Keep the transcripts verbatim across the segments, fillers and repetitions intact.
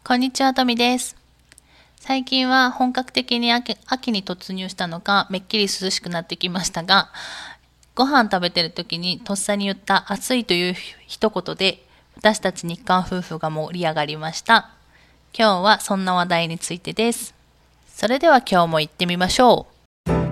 こんにちは、とみです。最近は本格的に 秋, 秋に突入したのか、めっきり涼しくなってきましたが、ご飯食べてる時にとっさに言った暑いという一言で、私たち日韓夫婦が盛り上がりました。今日はそんな話題についてです。それでは今日も行ってみましょう。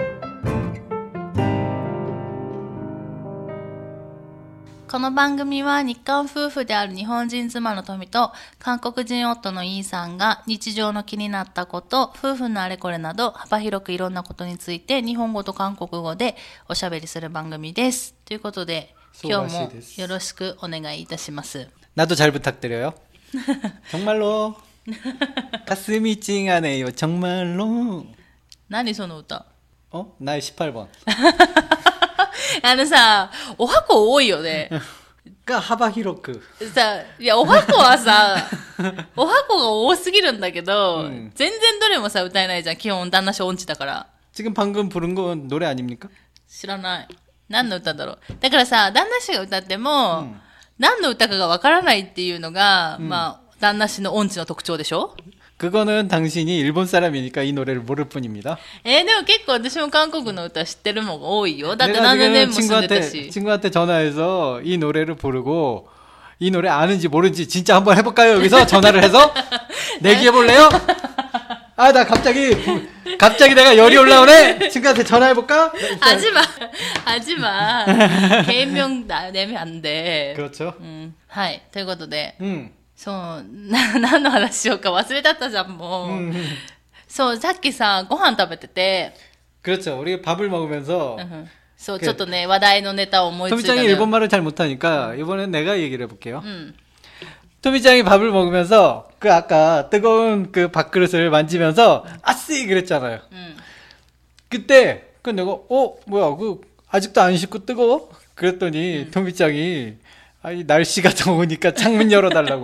この番組は日韓夫婦である日本人妻の富と韓国人夫のイーさんが日常の気になったこと、夫婦のあれこれなど幅広くいろんなことについて日本語と韓国語でおしゃべりする番組です。ということで今日もよろしくお願いいたします。 나도 잘 부탁드려요. 정말로 가슴이 찡하네요. 정말로. 何その歌? 어? 나의 십팔 번. あのさ、おはこ多いよね。 が幅広く。 さ、いや、おはこはさ、おはこが多すぎるんだけど、うん、全然どれもさ、歌えないじゃん。基本、旦那氏音痴だから。 지금 방금 부른 건 노래 아닙니까? 知らない。何の歌だろう。だからさ、旦那氏が歌っても、うん、何の歌かがわからないっていうのが、うん、まあ、旦那氏の音痴の特徴でしょ? 그거는 당신이 일본 사람이니까 이 노래를 모를 뿐입니다. えー、でも結構私も韓国の歌知ってるもんが多いよ。だって何年も住んでたし。 친구한테 전화해서 이 노래를 부르고 이 노래 아는지 모르는지 진짜 한번 해볼까요? 여기서 전화를 해서 내기해볼래요? 아, 나 갑자기 갑자기 내가 열이 올라오네. 친구한테 전화해볼까? 하지마, 하지마. 개인명 내면 안 돼. 그렇죠. 음, はい。ということで。 음. そう、な、何の話しようか忘れたったじゃん、もう。うん、そう、さっきさ、ご飯食べてて。 그렇죠. 우리 밥을 먹으면서. そう、ちょっとね、話題のネタを思いついたのよ。 토미짱이 일본말을 잘 못하니까 이번엔 내가 얘기를 해볼게요. 음. 토미짱이 밥을 먹으면서 그 아까 뜨거운 그 밥그릇을 만지면서 아쓰이 그랬잖아요. 음. 그때 그 내가 어 뭐야 그 아직도 안 식고 뜨거워? 그랬더니 음. 토미짱이 아니 날씨가 더우니까 창문 열어달라고.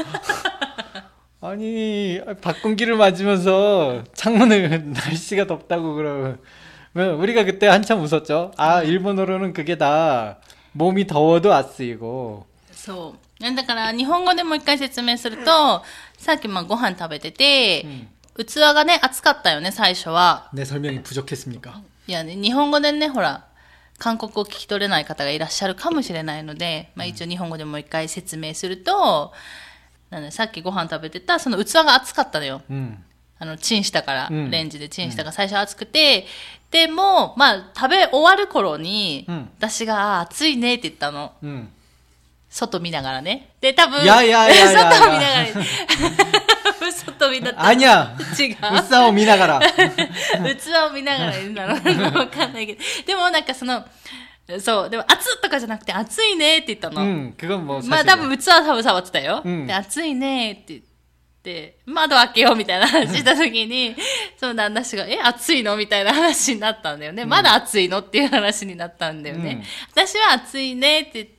아니 바꾼기를 맞으면서 창문을 날씨가 덥다고 그러면 우리가 그때 한참 웃었죠. 아 일본어로는 그게 다 몸이 더워도 안 쓰이고. そう。だから日本語でもう一回説明すると、さっきまあご飯食べてて、器がね熱かったよね最初は。 내 설명이 부족했습니까? いやね日本語でねほら。韓国語を聞き取れない方がいらっしゃるかもしれないので、まあ、一応日本語でもう一回説明すると、なんでさっきご飯食べてたその器が熱かったのよ、うん、あのチンしたから、うん、レンジでチンしたから最初熱くて、でもまあ食べ終わる頃に、うん、私が熱いねって言ったの、うん、外見ながらねで多分やややや外を見ながら外見だった。 아니야。 違う。 器を見ながら。 器を見ながら言うんだろうな。わかんないけど。でもなんかその、そう、でも熱とかじゃなくて熱いねって言ったの。 うん、그건 뭐 まあ多分器は多分触ってたよ。うん、で、熱いねって言って、窓開けようみたいな話した時に、その旦那氏が、え、暑いのみたいな話になったんだよね。うん、まだ暑いのっていう話になったんだよね。うん、私は暑いねって言って、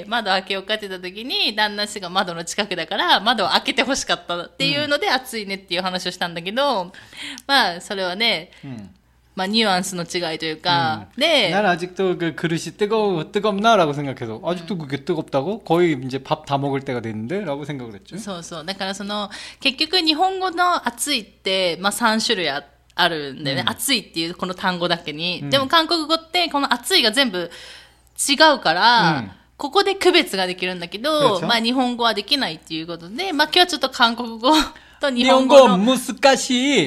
窓開けようかって言った時に、旦那氏が窓の近くだから、窓を開けて欲しかったっていうので、暑いねっていう話をしたんだけど、まあ、それはね、うんまあ、ニュアンスの違いというか、 음. で、난 아직도 그 그릇이 뜨거워, 뜨겁나라고 생각해서, 아직도 그게 뜨겁다고? 거의 이제 밥 다 먹을 때가 됐는데? 라고 생각을 했죠. そうそう。だからその、結局日本語の暑いって、まあ、さん種類 あ, あるんでね、うん、暑いっていうこの単語だけに、うん、でも韓国語ってこの暑いが全部違うから、うん、ここで区別ができるんだけど、まあ、日本語はできないっていうことで、まあ、今日はちょっと韓国語と日本語の。 日本語難しい。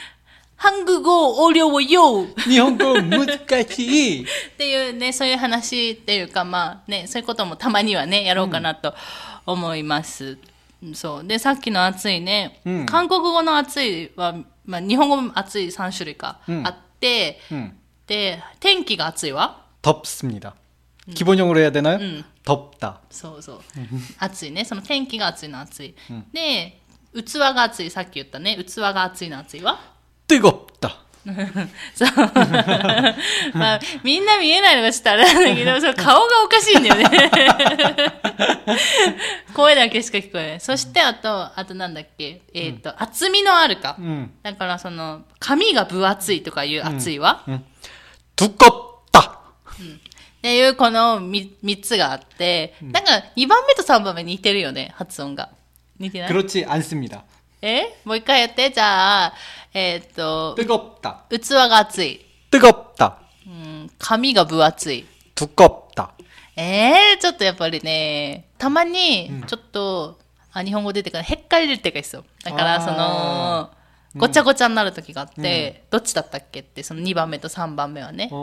한국어 어려워요. 일본어難しいっていうね、そういう話っていうか、まあね、そういうこともたまにはね、やろうかなと思います。うん、そう。で、さっきの暑いね、うん、韓国語の暑いは、まあ日本語も暑いさん種類か、うん、あって、うん、で、天気が暑いは 덥습니다。기본형으로 해야 되나요? 응. 덥다. そうそう。暑いね。その天気が暑いの暑い。うん、で、器が暑い。さっき言ったね。器が暑いの暑いは 뜨겁다. そう。まあ、みんな見えないのがちょっとあれなんだけど、その顔がおかしいんだよね。声だけしか聞こえない。そして、あと、あとなんだっけ、えっ、ー、と、うん、厚みのあるか。うん、だから、その、髪が分厚いとかいう厚いは、うんうん、 두껍다。 うん。っていうこのみっつがあって、なんかにばんめとさんばんめ似てるよね、発音が。似てない？ 그렇지 않습니다. えもう一回やって。じゃあ、えー、っと、 뜨겁다. 器が熱い。 뜨겁다. うん、髪が分厚い。 두껍다. えー、ちょっとやっぱりね、たまに、ちょっと、うん、あ、日本語出てから、へっかり出てかいっすよ。だから、その、ごちゃごちゃになる時があって、うん、どっちだったっけって、そのにばんめとさんばんめはね、うん、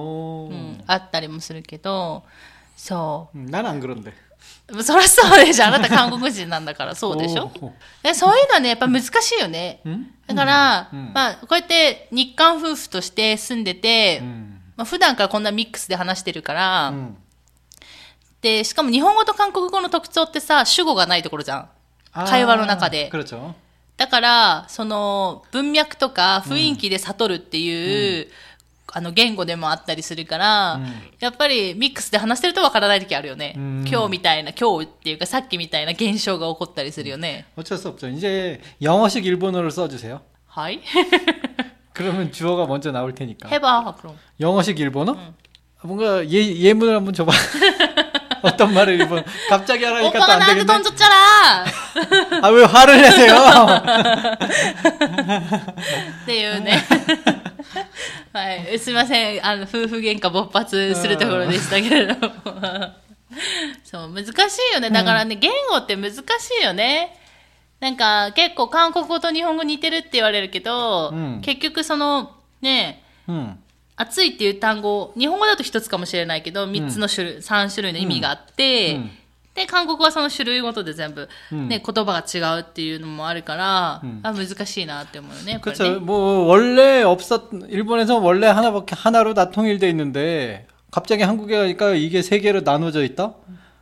あったりもするけど、そう。 난 안 그런데。 そりゃそうでしょ。あなた韓国人なんだからそうでしょ。え、そういうのはね、やっぱ難しいよね。だから、うん、まあ、こうやって日韓夫婦として住んでて、うん、まあ、普段からこんなミックスで話してるから、うん、で、しかも日本語と韓国語の特徴ってさ、主語がないところじゃん。会話の中で。だから、その、文脈とか雰囲気で悟るっていう、うん、あの、言語でもあったりするから、うん、やっぱりミックスで話してるとわからない時あるよね。うん、今日みたいな、今日っていうかさっきみたいな現象が起こったりするよね。 어쩔 수 없죠。이제 영어식 일본어를 써주세요。 はい。 그러면 주어가 먼저 나올 테니까. 해봐, 그럼. 영어식 일본어? 응. 뭔가 예, 예문을 한번 줘봐. 어떤 말을 일본 갑자기 하라니까 또 안 되겠네. 오빠가 나한테 돈 줬잖아. 아, 왜 화를 내세요? っていうね。はい、すみません、あの夫婦喧嘩勃発するところでしたけれどもそう難しいよね。だからね、うん、言語って難しいよね。なんか結構韓国語と日本語似てるって言われるけど、うん、結局そのね、うん、暑いっていう単語、日本語だと一つかもしれないけどみっつの種類、うん、さん種類の意味があって、うんうん、で韓国はその種類ごとで全部、うんね、言葉が違うっていうのもあるから、うん、あ難しいなって思うよね。 그렇죠。뭐 원래 없었 일본에서 원래 하나밖에 하나로 다 통일돼 있는데 갑자기 한국에 가니까 이게 세 개로 나눠져 있다?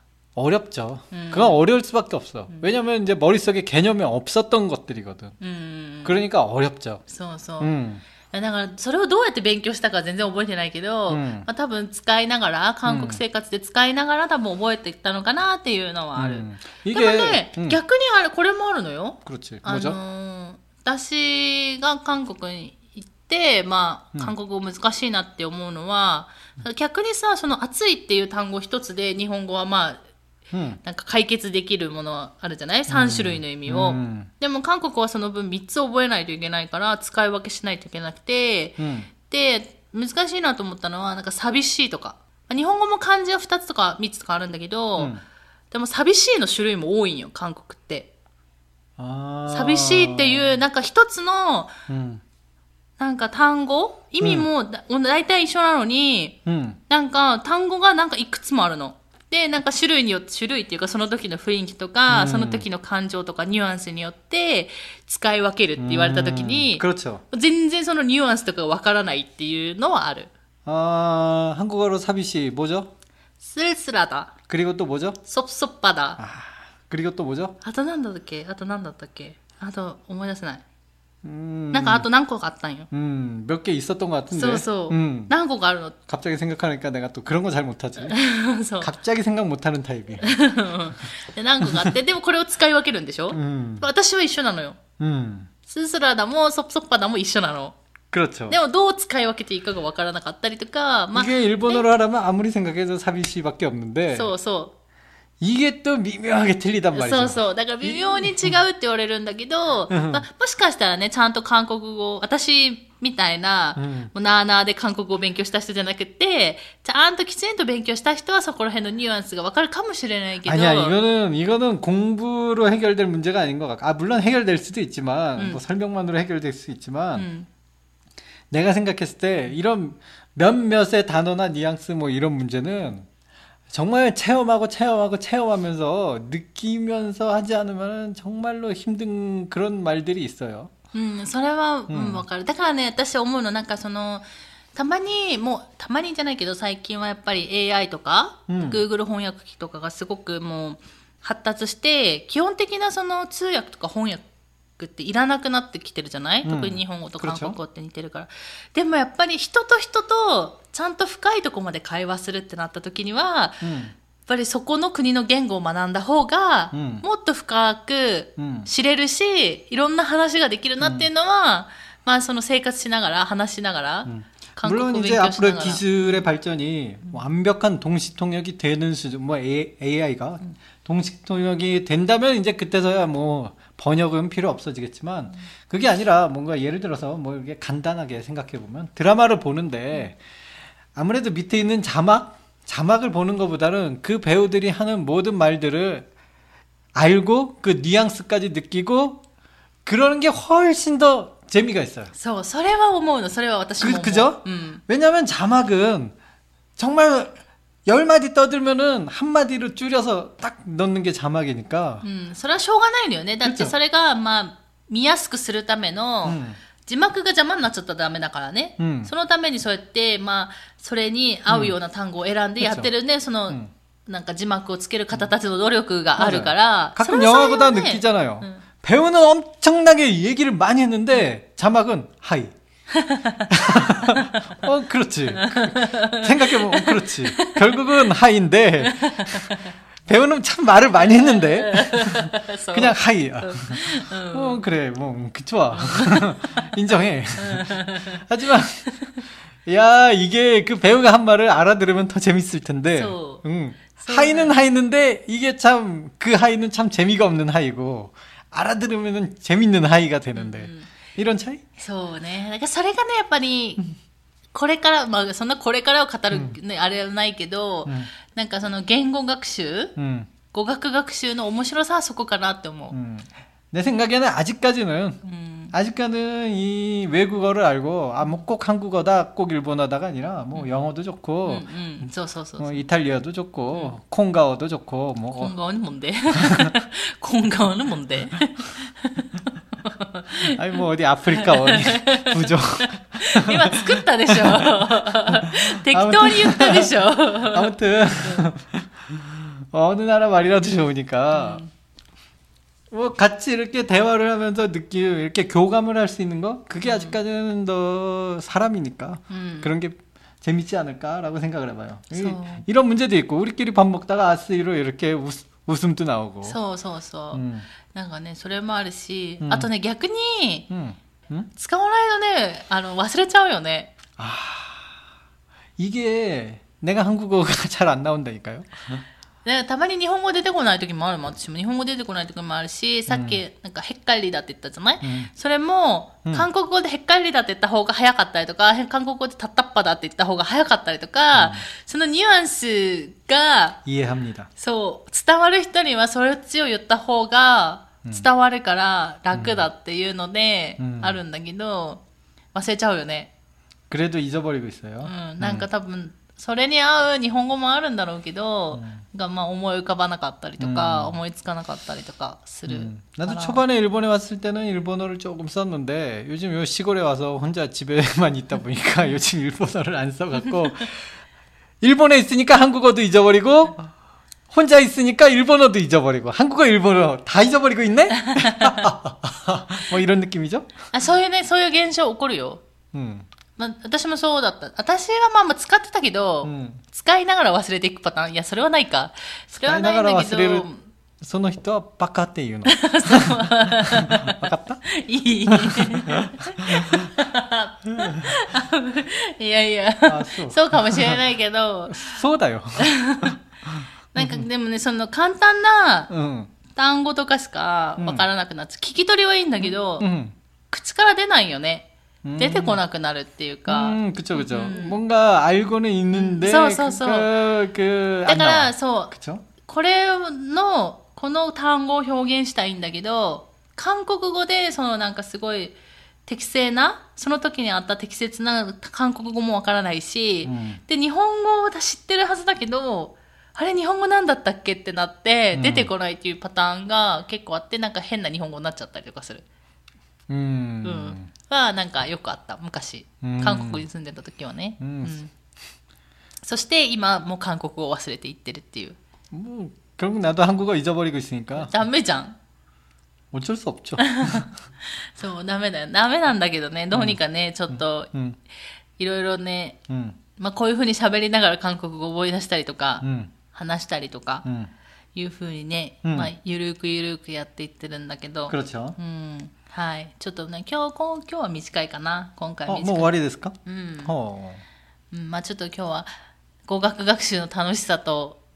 어렵죠. 음. 그건 어려울 수밖에 없어. 음. 왜냐면 이제 머릿속에 개념이 없었던 것들이거든. 음. 그러니까 어렵죠. そうそう。 음. だからそれをどうやって勉強したか全然覚えてないけど、うん、まあ、多分使いながら韓国生活で使いながら多分覚えていったのかなっていうのはある、うん、でもね、うん、逆にあれこれもあるのよ。あのー、私が韓国に行ってまあ韓国語難しいなって思うのは、うん、逆にさその暑いっていう単語一つで日本語はまあうん、なんか解決できるものあるじゃない ?さん 種類の意味を、うん、でも韓国はその分みっつ覚えないといけないから使い分けしないといけなくて、うん、で難しいなと思ったのはなんか寂しいとか日本語も漢字はふたつとかみっつとかあるんだけど、うん、でも寂しいの種類も多いんよ韓国って。あ寂しいっていうなんか一つの、うん、なんか単語意味もだ、うん、大体一緒なのに、うん、なんか単語がなんかいくつもあるの。で、なんか種類によって、種類っていうかその時の雰囲気とか、うん、その時の感情とかニュアンスによって使い分けるって言われた時に、全然そのニュアンスとかわからないっていうのはある。 あ、한국어로寂しい뭐죠? 쓸쓸하다. 그리고 또 뭐죠? 섭섭하다. 아, 그리고 또 뭐죠? あと何だったっけ? あと何だったっけ? あと思い出せない。음, なんかあと何個かあったんよ。 음, 몇 개 있었던 것 같은데. そうそう。 음, 何個かあるの。 갑자기 생각하니까 내가 또 그런 거 잘 못하지. 갑자기 생각 못하는 타입이야. で何個かあって、でもこれを使い分けるんでしょ。 음, 私は一緒なのよ。 음, 스스라다も섭섭하다も一緒なの。 그렇죠. でもどう使い分けていいかがわからなかったりとか、まあ、 이게 일본어로 네? 하려면 아무리 생각해도 사비시밖에 없는데. そうそう。 이게 또 미묘하게 틀리단 말이죠. そうそう。だから微妙に違うって言われるんだけど、まあ、もしかしたらね、ちゃんと韓国語、私みたいな、うん、もうなーなーで韓国語を勉強した人じゃなくて、ちゃんときちんと勉強した人はそこら辺のニュアンスがわかるかもしれないけど。 아니야, 이거는, 이거는 공부로 해결될 문제가 아닌 것 같아. 아, 물론 해결될 수도 있지만, 음. 뭐 설명만으로 해결될 수 있지만, 음. 내가 생각했을 때 이런 몇몇의 단어나 뉘앙스 뭐 이런 문제는 정말 체험하고 체험하고 체험하면서 느끼면서 하지 않으면 정말로 힘든 그런 말들이 있어요. うん、それは、うん、わかる。だからね、私思うのなんかそのたまにもうたまにじゃないけど最近はやっぱり エーアイ とか、うん、Google 翻訳機とかがすごくもう発達して基本的なその通訳とか翻訳っていらなくなってきてるじゃない、うん、特に日本語と韓国語って似てるから。でもやっぱり人と人とちゃんと深いところまで会話するってなった時には、うん、やっぱりそこの国の言語を学んだ方が、うん、もっと深く知れるし、うん、いろんな話ができるなっていうのは、うん、まあその生活しながら話しながら、うん、 물론 이제 앞으로 기술의 발전이 음. 완벽한 동시 통역이 되는 수준, 뭐 에이아이가 음. 동시 통역이 된다면 이제 그때서야 뭐 번역은 필요 없어지겠지만 그게 아니라 뭔가 예를 들어서 뭐 이렇게 간단하게 생각해 보면 드라마를 보는데 아무래도 밑에 있는 자막 자막을 보는 것보다는 그 배우들이 하는 모든 말들을 알고 그 뉘앙스까지 느끼고 그러는 게 훨씬 더 재미가 있어요. そう、それは思うの。それは私も思う。 그, 그죠? 음. 왜냐면 자막은 정말 열 마디 떠들면은 한 마디로 줄여서 딱 넣는 게 자막이니까. うん、それはしょうがないのよね。だってそれが、まあ、見やすくするための、字幕が邪魔になっちゃったらダメだからね。うん、そのためにそうやって、まあ、それに合うような単語を選んでやってるね、その、うん、なんか字幕をつける方たちの努力があるから。 가끔 영화보다 느끼잖아요. 응. 배우는 엄청나게 얘기를 많이 했는데 자막은 하이. 어, 그렇지. 생각해보면 그렇지. 결국은 하이인데 배우는 참 말을 많이 했는데 그냥 하이야. 어, 그래. 뭐 좋아. 인정해. 하지만 야, 이게 그 배우가 한 말을 알아들으면 더 재밌을 텐데. 응. 하이는 하이인데 이게 참 그 하이는 참 재미가 없는 하이고 알아들으면 재밌는 하이가 되는데. 음. 이런 차이? そうね。だからそれがね、やっぱり、これから、まあ、そんなこれからを語る、ね、うん、あれはないけど、うん、なんかその言語学習、うん、語学学習の面白さはそこかなって思う。 음. 내 생각에는 아직까지는, 음. 아직까지는 이 외국어를 알고, 아, 뭐 꼭 한국어다, 꼭 일본어다가 아니라, 뭐 음. 영어도 좋고, 음, 음. 소, 소, 소, 소. 뭐 이탈리아도 좋고, 음. 콩가어도 좋고, 뭐. 콩가어는 뭔데? 콩가어는 뭔데? 아니 뭐 어디 아프리카 어디 부족 今作ったでしょ適当に言ったでしょ 아무튼 어느 나라 말이라도 좋으니까 음. 뭐 같이 이렇게 대화를 하면서 느끼고 이렇게 교감을 할 수 있는 거 그게 음. 아직까지는 더 사람이니까 음. 그런 게 재밌지 않을까라고 생각을 해봐요. 이, 이런 문제도 있고 우리끼리 밥 먹다가 아스이로 이렇게 웃, 웃음도 나오고 そうそうそう、 음. なんかね、それもあるし、うん、あとね、逆に、うんうん、使わないとね、あの、忘れちゃうよね。 あ、이게 내가 한국어가 잘 안 나온다니까요. でたまに日本語出てこない時もあるもん。私も日本語出てこない時もあるし、さっき、なんか、へっかりだって言ったじゃない、うん、それも、韓国語でへっかりだって言った方が早かったりとか、韓国語でたったっぱだって言った方が早かったりとか、うん、そのニュアンスが、 이해합니다。 そう、伝わる人にはそっちを言った方が伝わるから楽だっていうので、あるんだけど、忘れちゃうよね。 그래도 잊어버리고 있어요。 うん、なんか多分、それに合う日本語もあるんだろうけど、うん、がまあ思い浮かばなかったりとか、うん、思いつかなかったりとかする。 음. 나도 초반에 일본에 왔을 때는 일본어를 조금 썼는데 요즘 요 시골에 와서 혼자 집에만 있다 보니까 요즘 일본어를 안 써갖고 일본에 있으니까 한국어도 잊어버리고 혼자 있으니까 일본어도 잊어버리고 한국어 일본어 다 잊어버리고 있네? 뭐 이런 느낌이죠? 아, そういうね、そういう現象起こるよ。 음. まあ、私もそうだった。私はまあまあ使ってたけど、うん、使いながら忘れていくパターン。いや、それはないか。それはないんだけど。使いながら忘れる。その人はバカっていうの。わかった？いい。いやいやそう。そうかもしれないけど。そうだよ。なんかでもね、その簡単な単語とかしかわからなくなっちゃう。聞き取りはいいんだけど、うん、口から出ないよね。出てこなくなるっていうか。うん、그쵸、그쵸。뭔가 알고는 있는데、そうそうそう。그、だから、そう。그쵸？これの、この単語を表現したいんだけど、韓国語で、そのなんかすごい適正な、その時にあった適切な韓国語もわからないし、うん、で、日本語を知ってるはずだけど、あれ日本語なんだったっけってなって、出てこないっていうパターンが結構あって、なんか変な日本語になっちゃったりとかする。うん。うんはなんかよくあった昔韓国に住んでた時はね、うんうん、そして今もう韓国語を忘れていってるっていうもう결국 나도 한국어 잊어버리고 있으니까ダメじゃん어쩔 수 없죠 そうダメだよダメなんだけどねどうにかね、うん、ちょっと、うん、いろいろね、うん、まあこういう風に喋りながら韓国語を覚え出したりとか、うん、話したりとか、うん、いう風にね、うん、まあゆるくゆるくやっていってるんだけど그렇죠うんはい。ちょっとね、今日、今日は短いかな。今回短い。もう終わりですか？うん。ほう。うん、まあちょっと今日は語学学習の楽しさと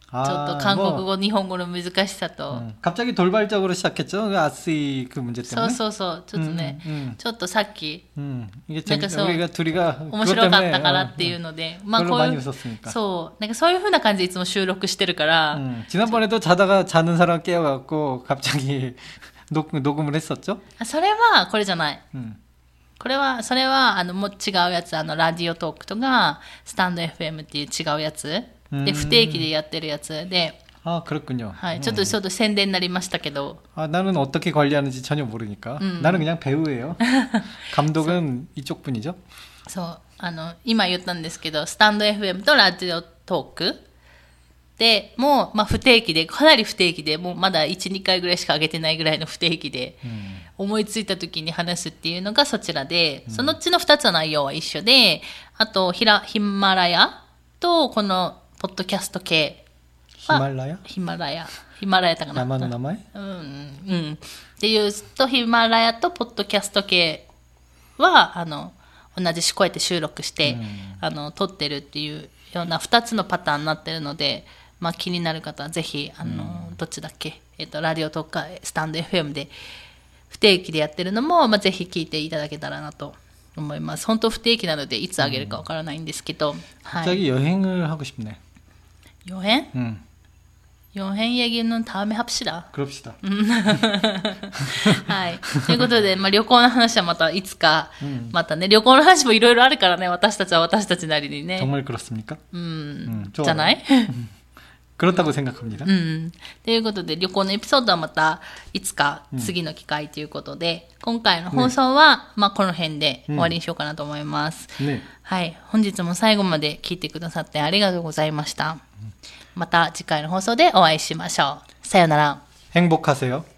ちょっと韓国語、日本語の難しさと。 갑자기 돌발적으로 시작했죠. 그 아쓰이 그 문제 そう 때문에. そうそう。ちょっとね、 음, 음. ちょっとさっき、 음, 이게 なんか 재밌, そう、 우리가 둘이가 面白かったからっていうので、まあ 별로 こう 많이 いう、 웃었으니까. そう、なんかそういう風な感じでいつも収録してるから、 음, 지난번에도 자다가 자는 사람 깨워갖고 갑자기 녹, 녹음을 했었죠. あそれはこれじゃない。 음. これは、それは、あの、もう違うやつ、あの、ラジオトークとか、スタンド エフエム っていう違うやつ。で、不定期でやってるやつで、 아, 그렇군요. はい、ちょっとちょっと宣伝になりましたけど。 아, 나는 어떻게 관리하는지 전혀 모르니까. 음. 나는 그냥 배우예요. 감독은 이쪽 분이죠. そう、あの、今言ったんですけど、スタンド エフエム とラジオトークで、もう、まあ、不定期で、かなり不定期で、もうまだいち、にかいぐらいしか上げてないぐらいの不定期で、 음. 思いついた時に話すっていうのがそちらで、そのうちのふたつの内容は一緒で、あと、ヒラ、ヒマラヤと、この、ポッドキャスト系。 히말라야? ヒマラヤ。ヒマラヤだかな。 나만의 나마에? うん、うん。っていうと、ヒマラヤとポッドキャスト系は、あの、同じし、こうやって収録して、 うん、 あの、撮ってるっていうようなふたつのパターンになってるので、まあ気になる方はぜひ、あの、うん、どっちだっけ、えっと、ラジオとかスタンド エフエム で不定期でやってるのも、まあぜひ聞いていただけたらなと思います。本当不定期なので、いつあげるかわからないんですけど、うん、 はい。갑자기 여행을 하고 싶네. 여행? 응. 여행 얘기는 다음에 합시다. 그럽시다. はい。ということで、まあ、旅行の話はまたいつか、うん、またね、旅行の話もいろいろあるからね、私たちは私たちなりにね。 정말 그렇습니까? うん。じゃない？ 그렇다고 생각합니다. うん。ということで、旅行のエピソードはまたいつか次の機会ということで、うん、今回の放送は、ね、まあ、この辺で終わりにしようかなと思います。ね、はい。本日も最後まで聞いてくださってありがとうございました。また次回の放送でお会いしましょう。さよなら。 행복하세요.